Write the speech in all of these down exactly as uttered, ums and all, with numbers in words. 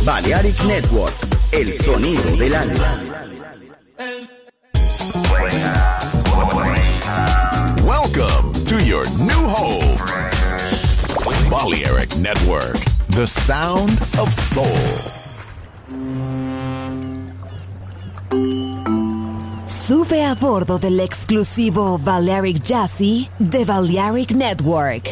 Balearic Network, el sonido del alma. Welcome to your new home. Balearic Network, the sound of soul. Sube a bordo del exclusivo Balearic Jazzy de Balearic Network.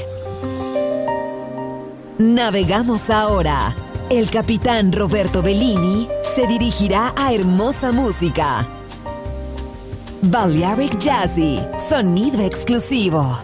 Navegamos ahora. El capitán Roberto Bellini se dirigirá a hermosa música. Balearic Jazzy, sonido exclusivo.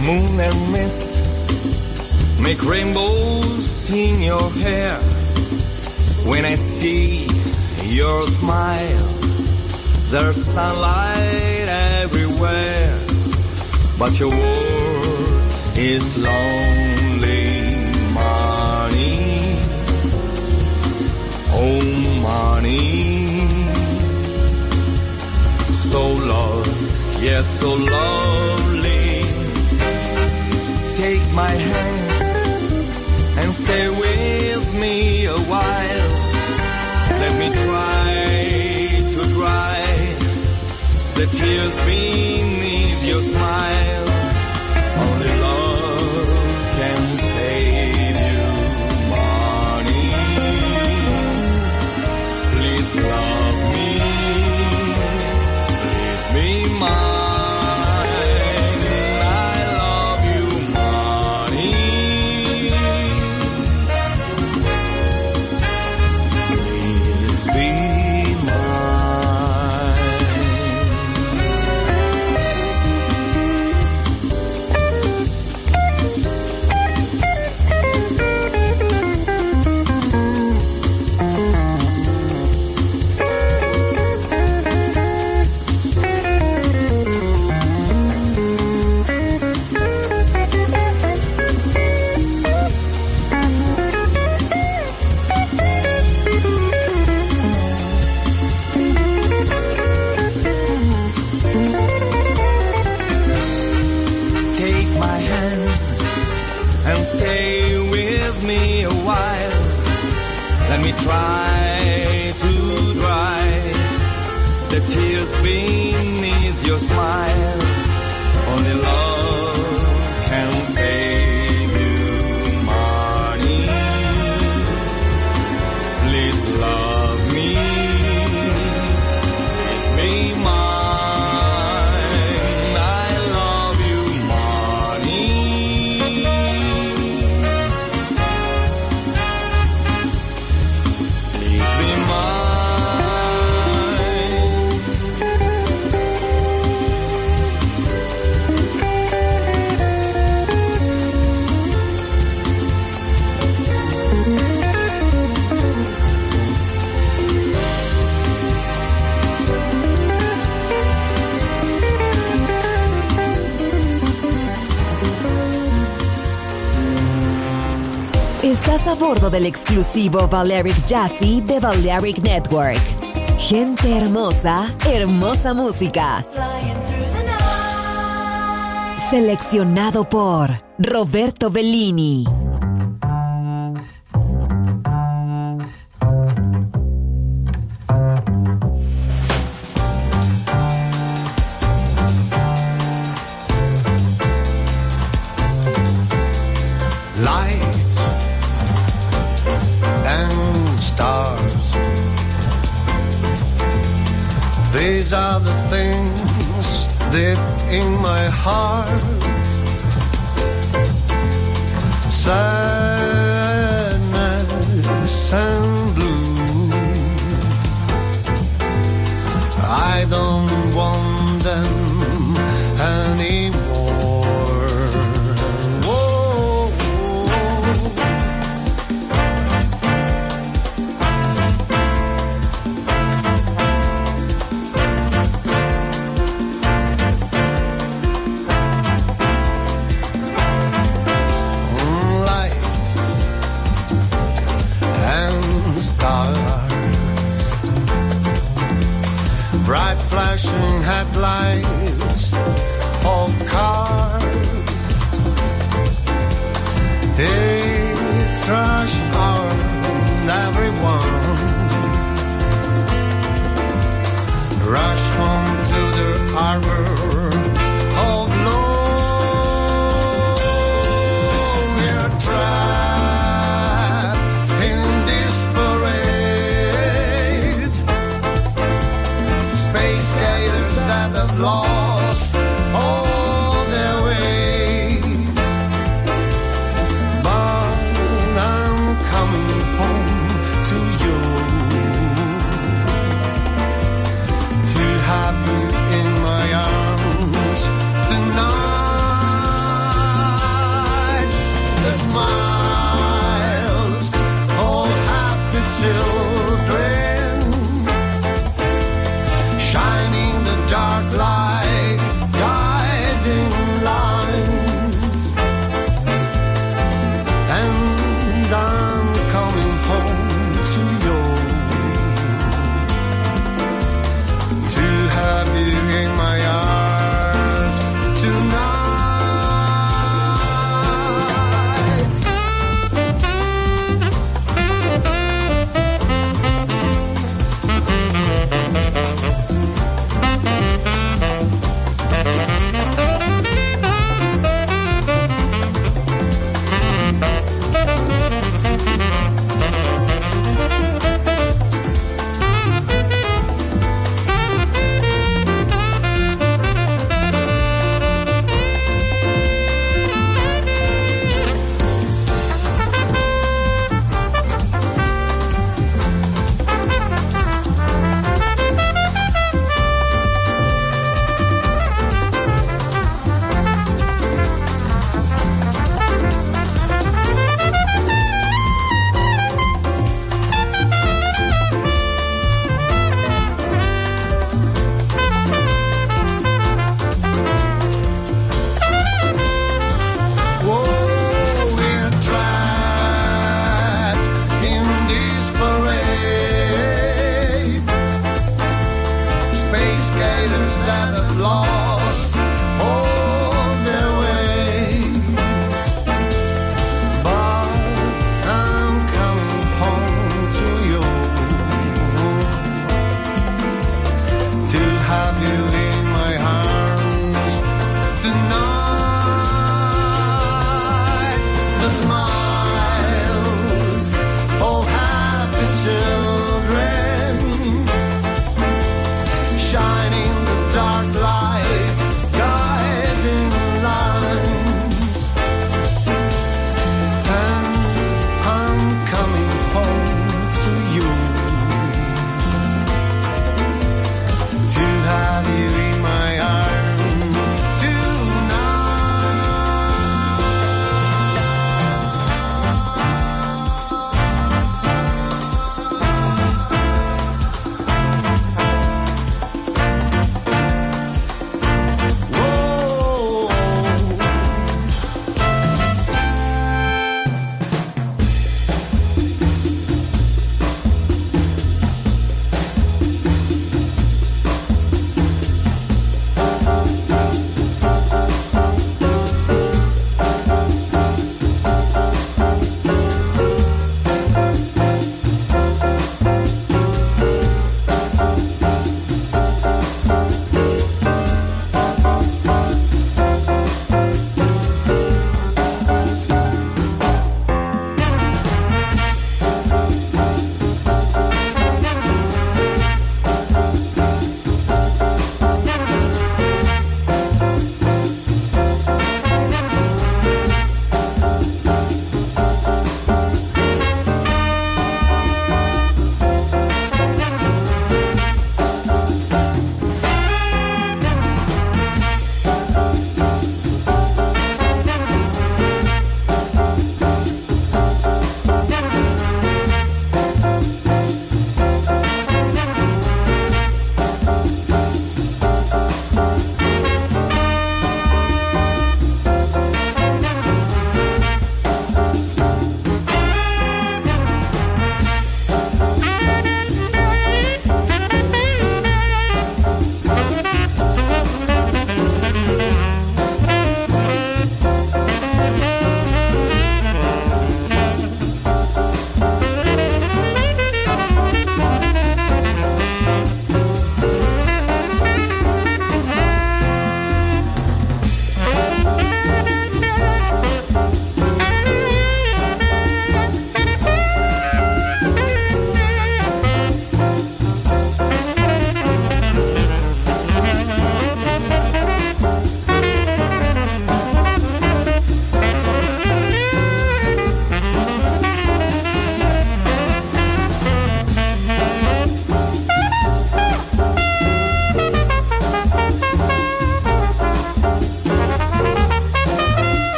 Moon and mist make rainbows in your hair. When I see your smile, there's sunlight everywhere. But your world is lonely money. Oh, money. So lost, yes, so lovely. Take my hand and stay with me a while. Let me try to dry the tears beneath your smile. Only love can save you money. Please love me, please be mine. Stay with me a while. Let me try to dry the tears beneath your smile. Only love can save you money. Please love me, please be mine. Estás a bordo del exclusivo Balearic Jazzy de Balearic Network. Gente hermosa, hermosa música. Seleccionado por Roberto Bellini. These are the things deep in my heart. Sadness and blue. I don't want them anymore. Whoa, whoa. Light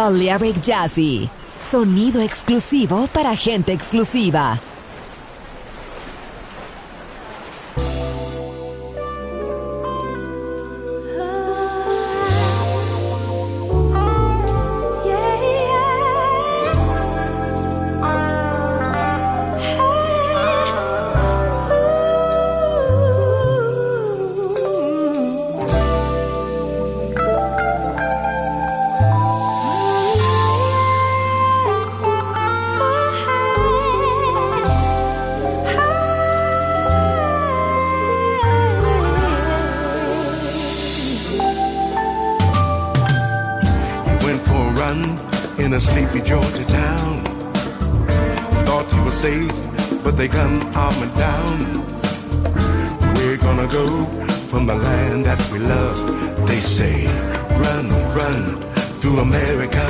Balearic Jazzy. Sonido exclusivo para gente exclusiva. In a sleepy Georgia town, thought he was safe, but they gunned him down. We're gonna go from the land that we love. They say, run, run through America.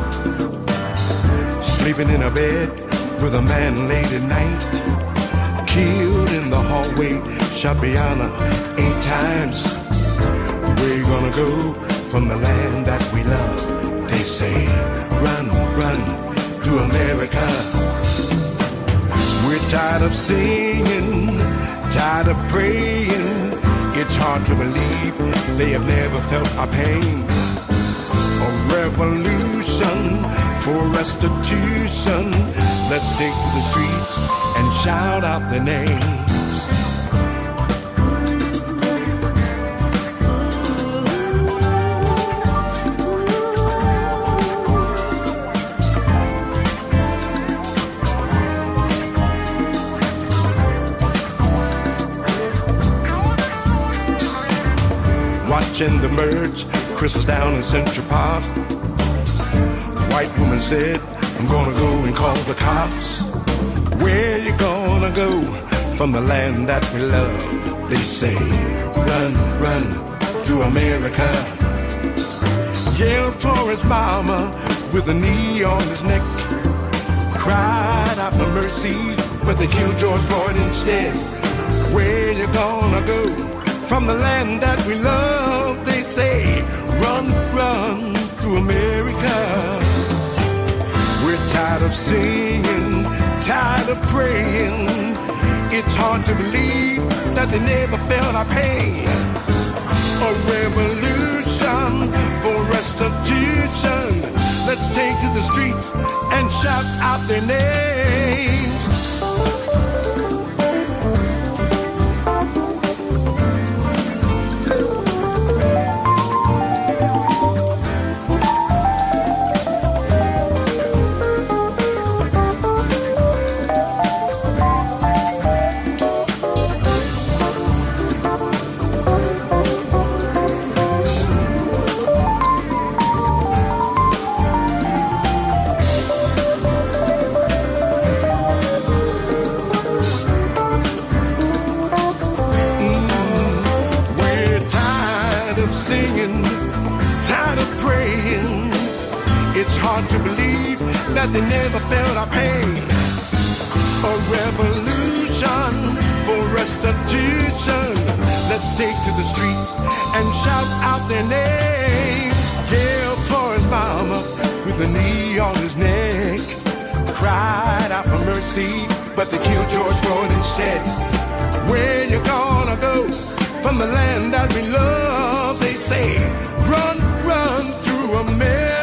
Sleeping in a bed with a man late at night, killed in the hallway, shot beyond eight times. We're gonna go from the land that we love. They say, run, run to America. We're tired of singing, tired of praying. It's hard to believe they have never felt our pain. A revolution for restitution. Let's take to the streets and shout out their names. Watching the merge, Chris was down in Central Park. White woman said, I'm gonna go and call the cops. Where you gonna go from the land that we love? They say, run, run to America. Yelled for his mama with a knee on his neck. Cried out for mercy, but they killed George Floyd instead. Where you gonna go from the land that we love? They say, run, run to America. We're tired of singing, tired of praying. It's hard to believe that they never felt our pain. A revolution for restitution. Let's take to the streets and shout out their names. That they never felt our pain. A revolution for restitution. Let's take to the streets and shout out their names. Yelled for his mama with a knee on his neck. Cried out for mercy, but they killed George Floyd instead. Where you gonna go from the land that we love? They say, run, run through America.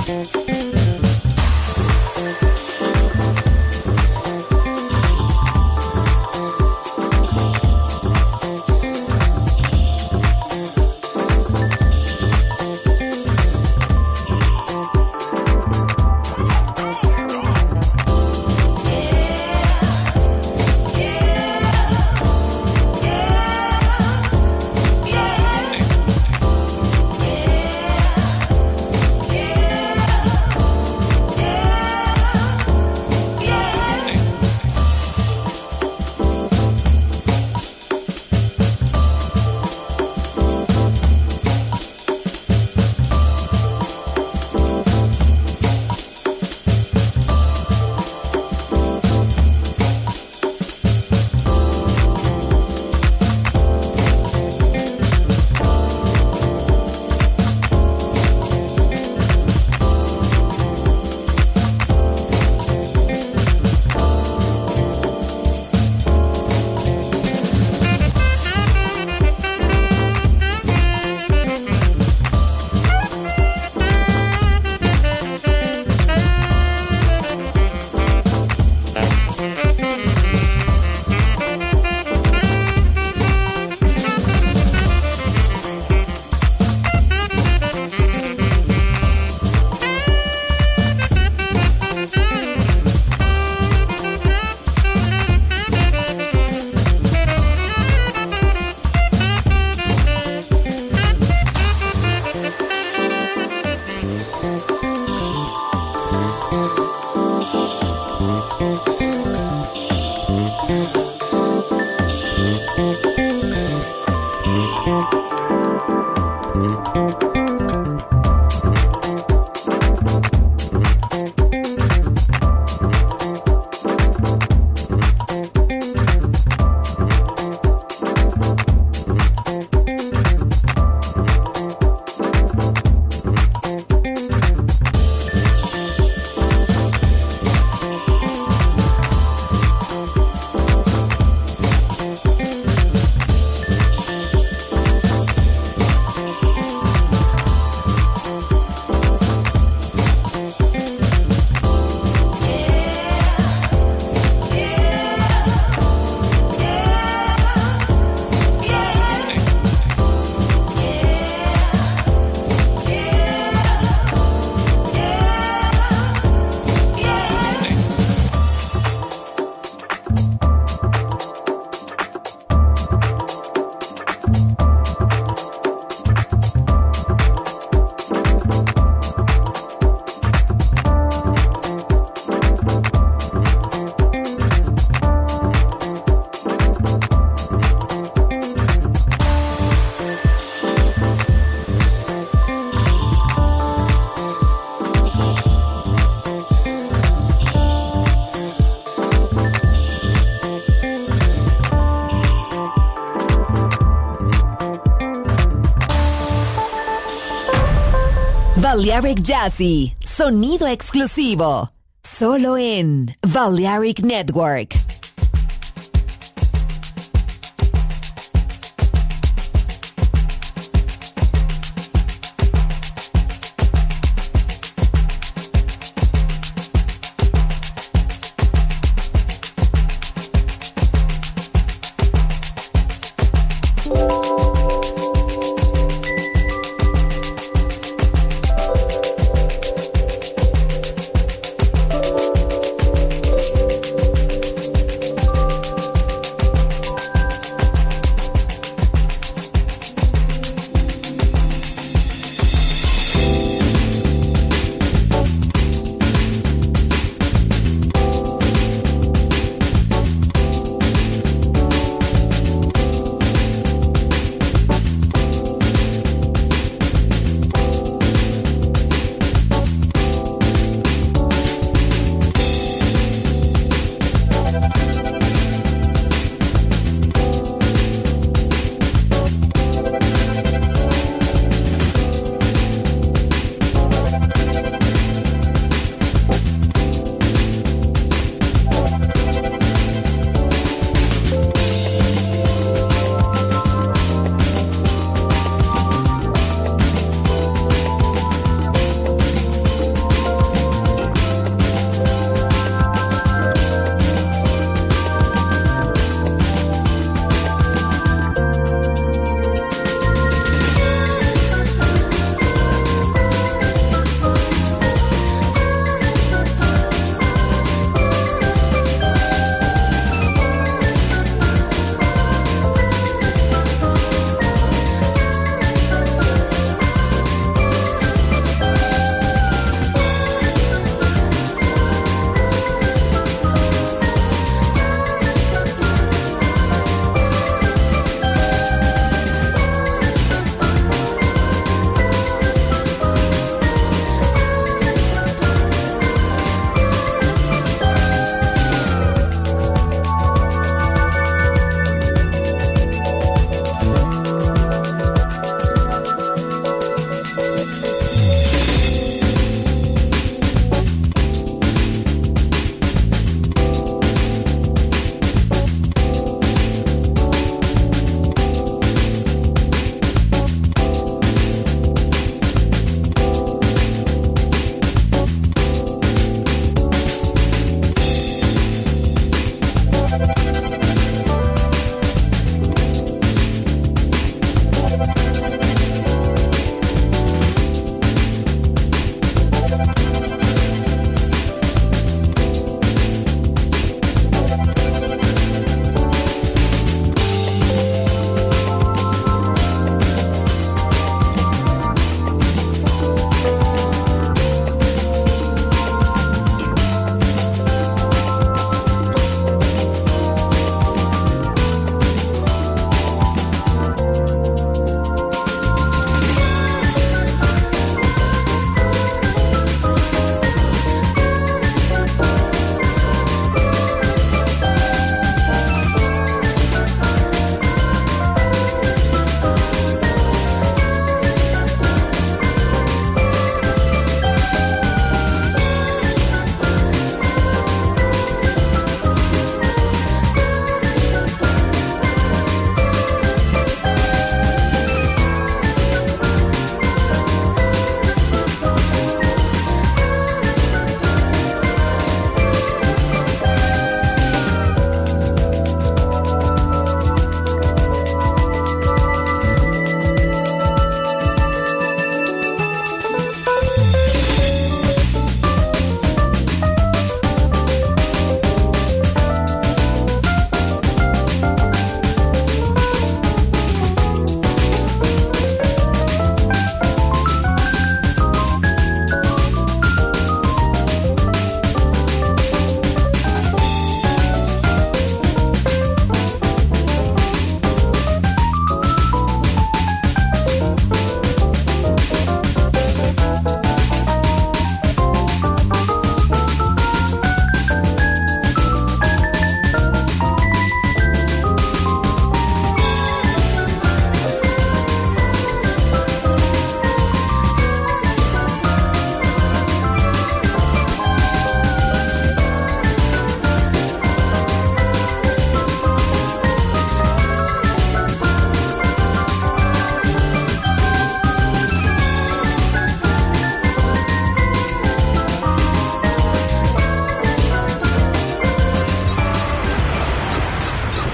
Balearic Jazzy, sonido exclusivo, solo en Balearic Network.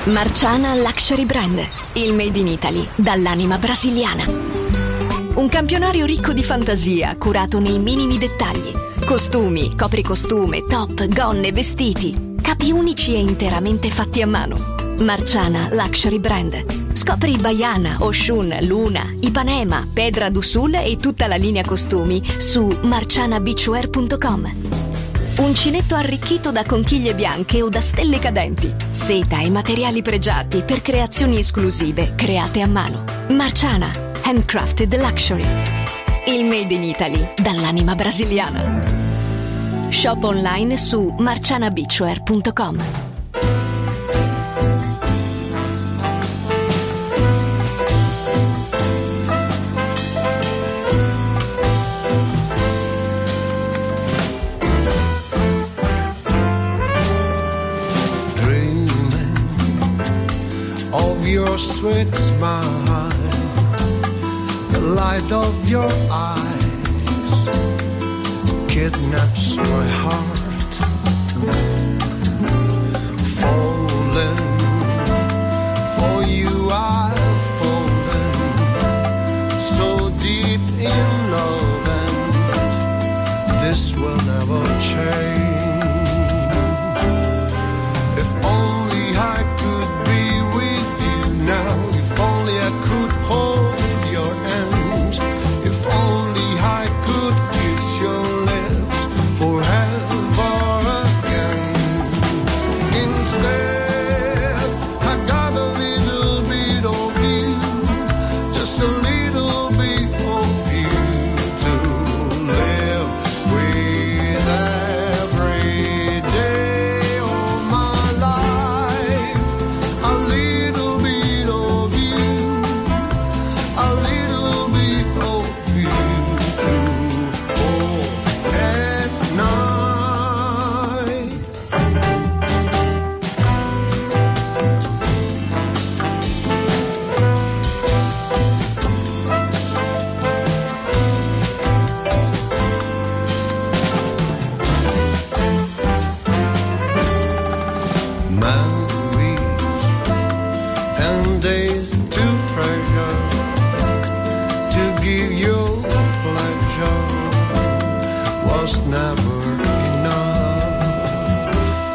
Marciana Luxury Brand, il made in Italy dall'anima brasiliana. Un campionario ricco di fantasia, curato nei minimi dettagli. Costumi, copricostume, top, gonne, vestiti. Capi unici e interamente fatti a mano. Marciana Luxury Brand. Scopri Baiana, Oshun, Luna, Ipanema, Pedra do Sul e tutta la linea costumi su marciana beachwear punto com. Uncinetto arricchito da conchiglie bianche o da stelle cadenti. Seta e materiali pregiati per creazioni esclusive create a mano. Marciana, handcrafted luxury. Il made in Italy dall'anima brasiliana. Shop online su marciana beachwear punto com. Your sweet smile, the light of your eyes kidnaps my heart. Falling for you, I've fallen so deep in love, and this will never change. If only I could be with you now, if only I could hold your hand, if only I could kiss your lips forever again. Instead, I got a little bit of you, just a little bit of you to live with every day of my life. A little bit of you, a little bit of you to hold at night. Memories and days to treasure, to give you pleasure was never enough.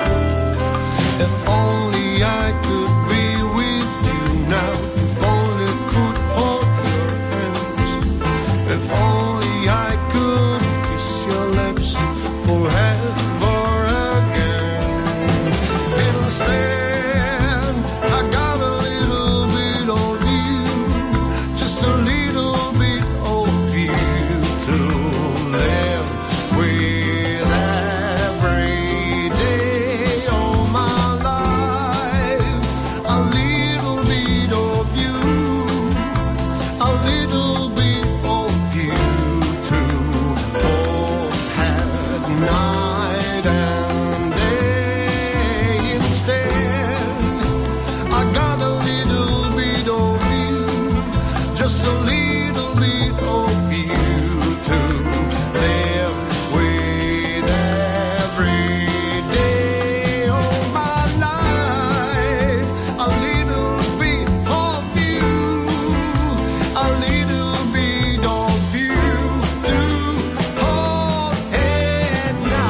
If only I could be with you now, if only I could hold your hands, if only I could kiss your lips forever again. Instead, I got a little bit of you, just a little bit of you to live with every day of my life. A little bit of you, a little bit of you to hold at night and day. Instead, I got a little bit of you, just a little bit of you to live with every day of my life. A little bit of you, a little bit of you to hold at night.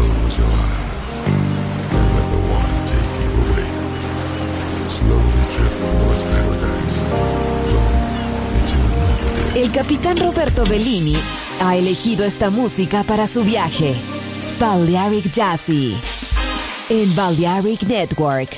close your eyes and let the water take you away. Slowly drift towards paradise, long into another day. El capitán Roberto Bellini ha elegido esta música para su viaje. Balearic Jazzy en Balearic Network.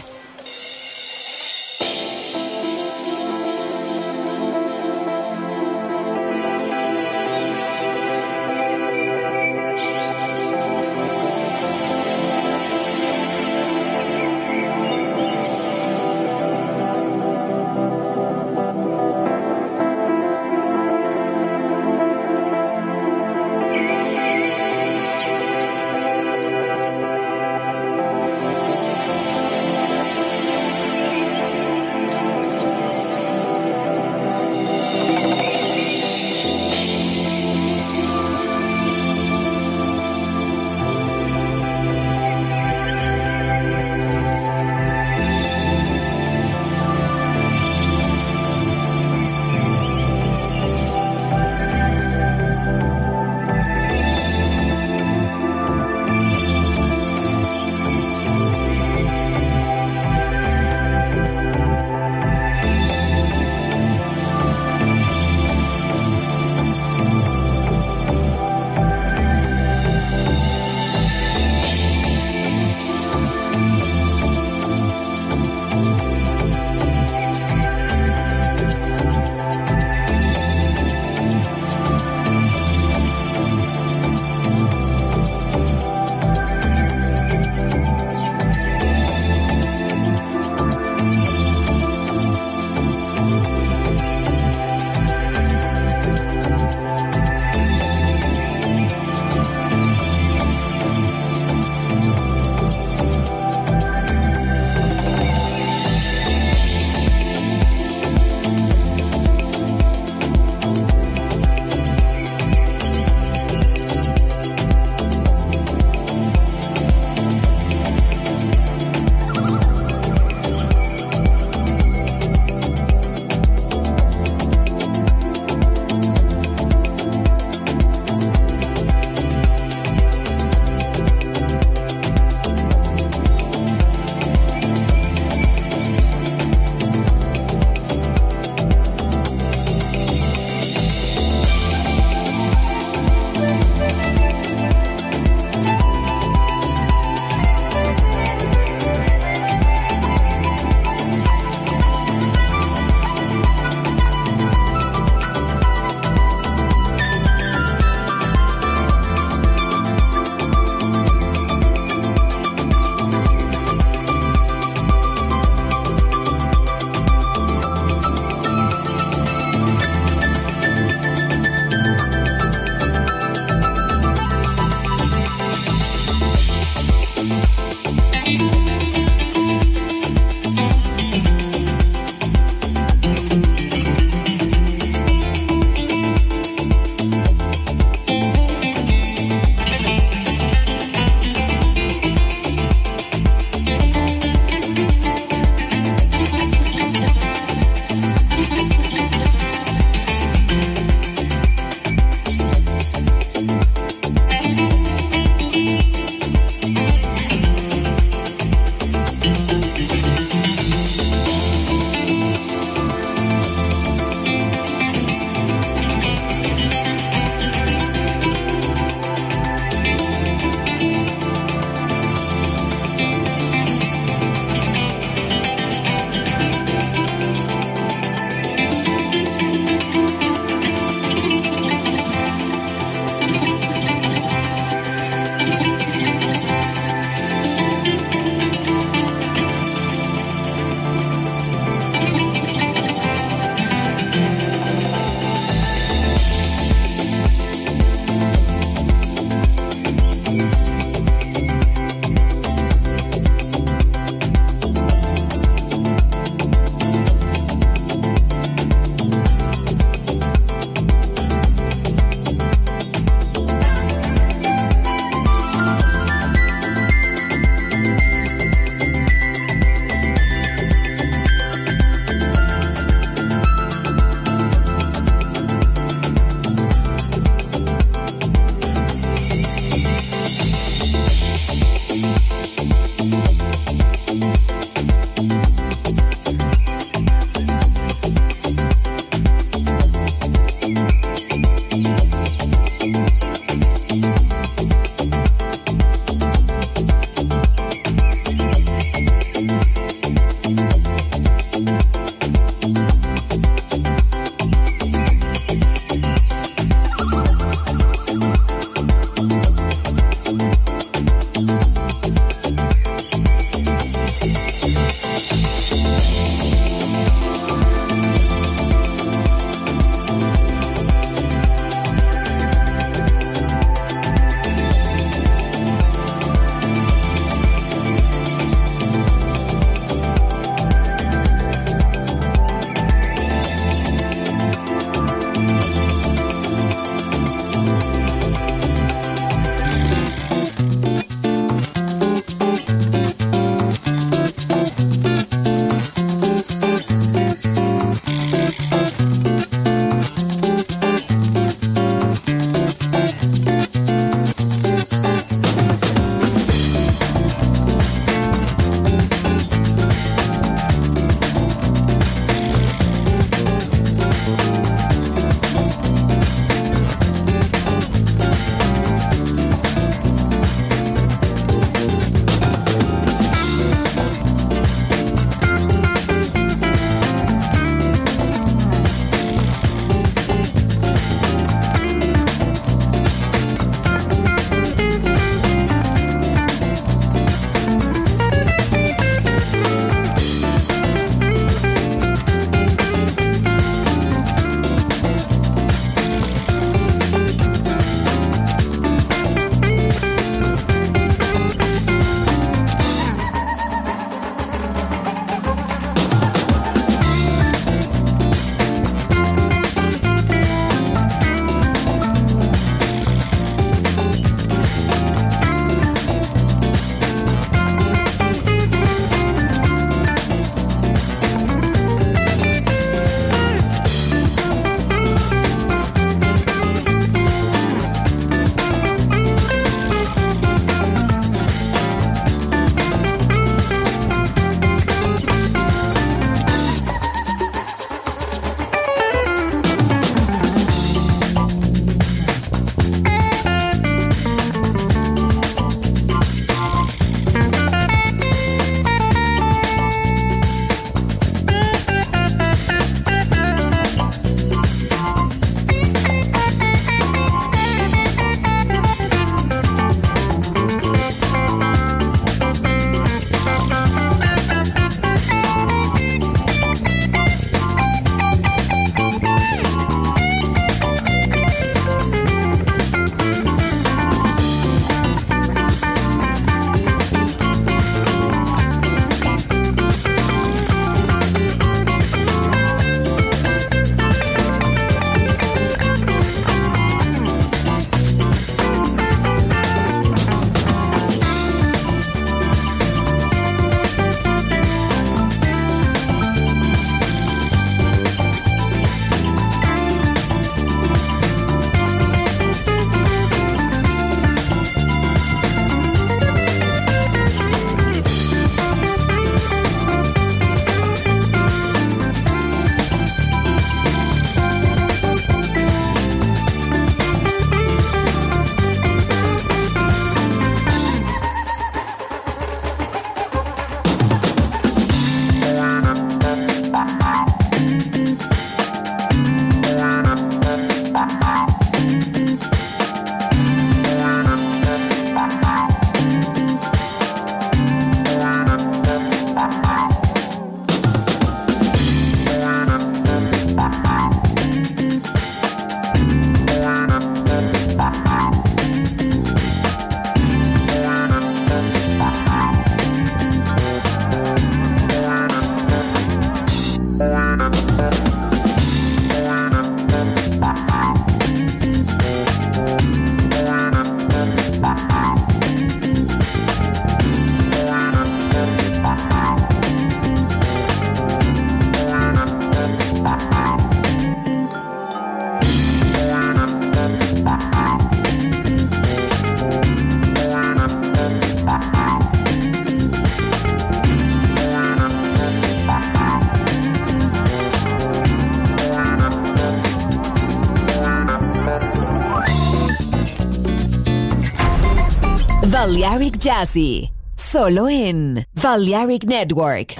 Balearic Jazzy, solo en Balearic Network.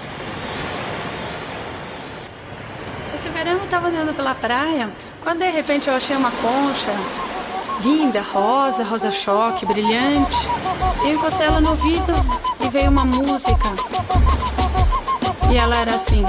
Esse verão eu tava andando pela praia, quando de repente eu achei uma concha linda, rosa, rosa choque, brilhante. Eu encostei ela no ouvido e veio uma música. E ela era assim.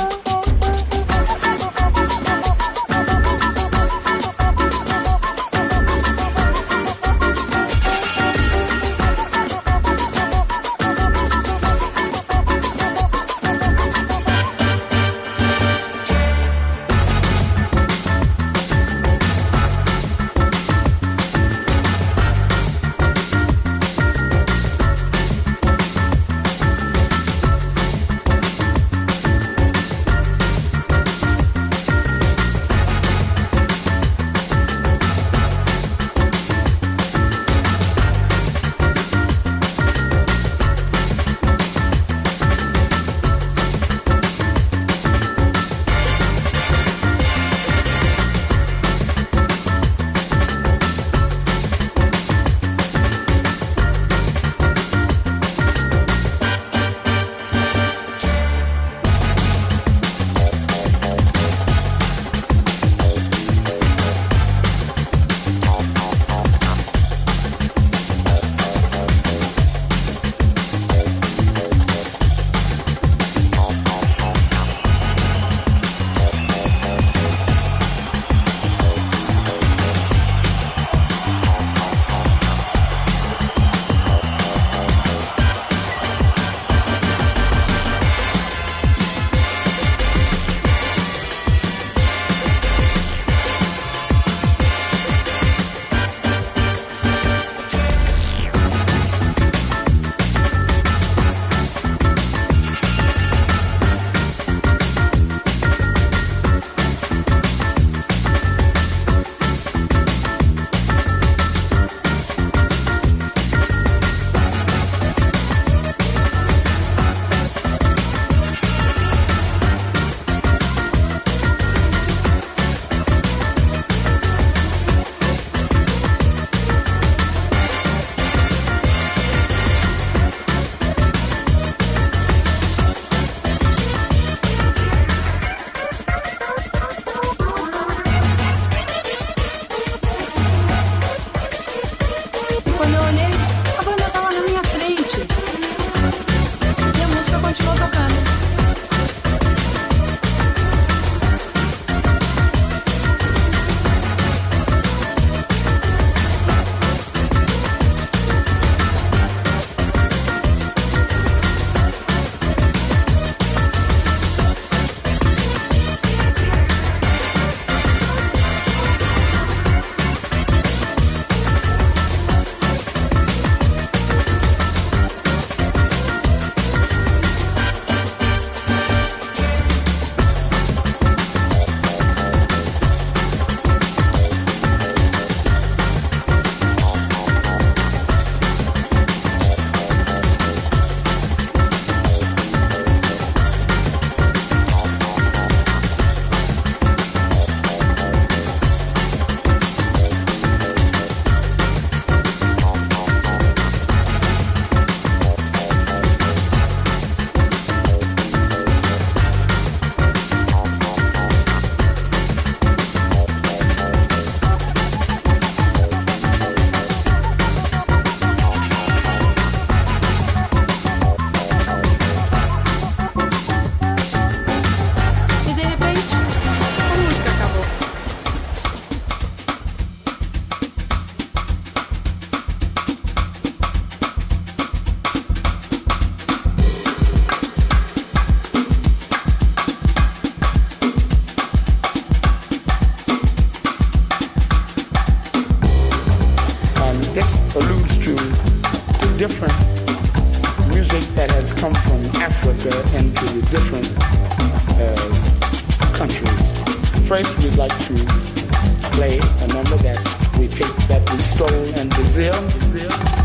different music that has come from Africa into the different uh, countries. First, we'd like to play a number that we picked, that we stole in Brazil. Brazil.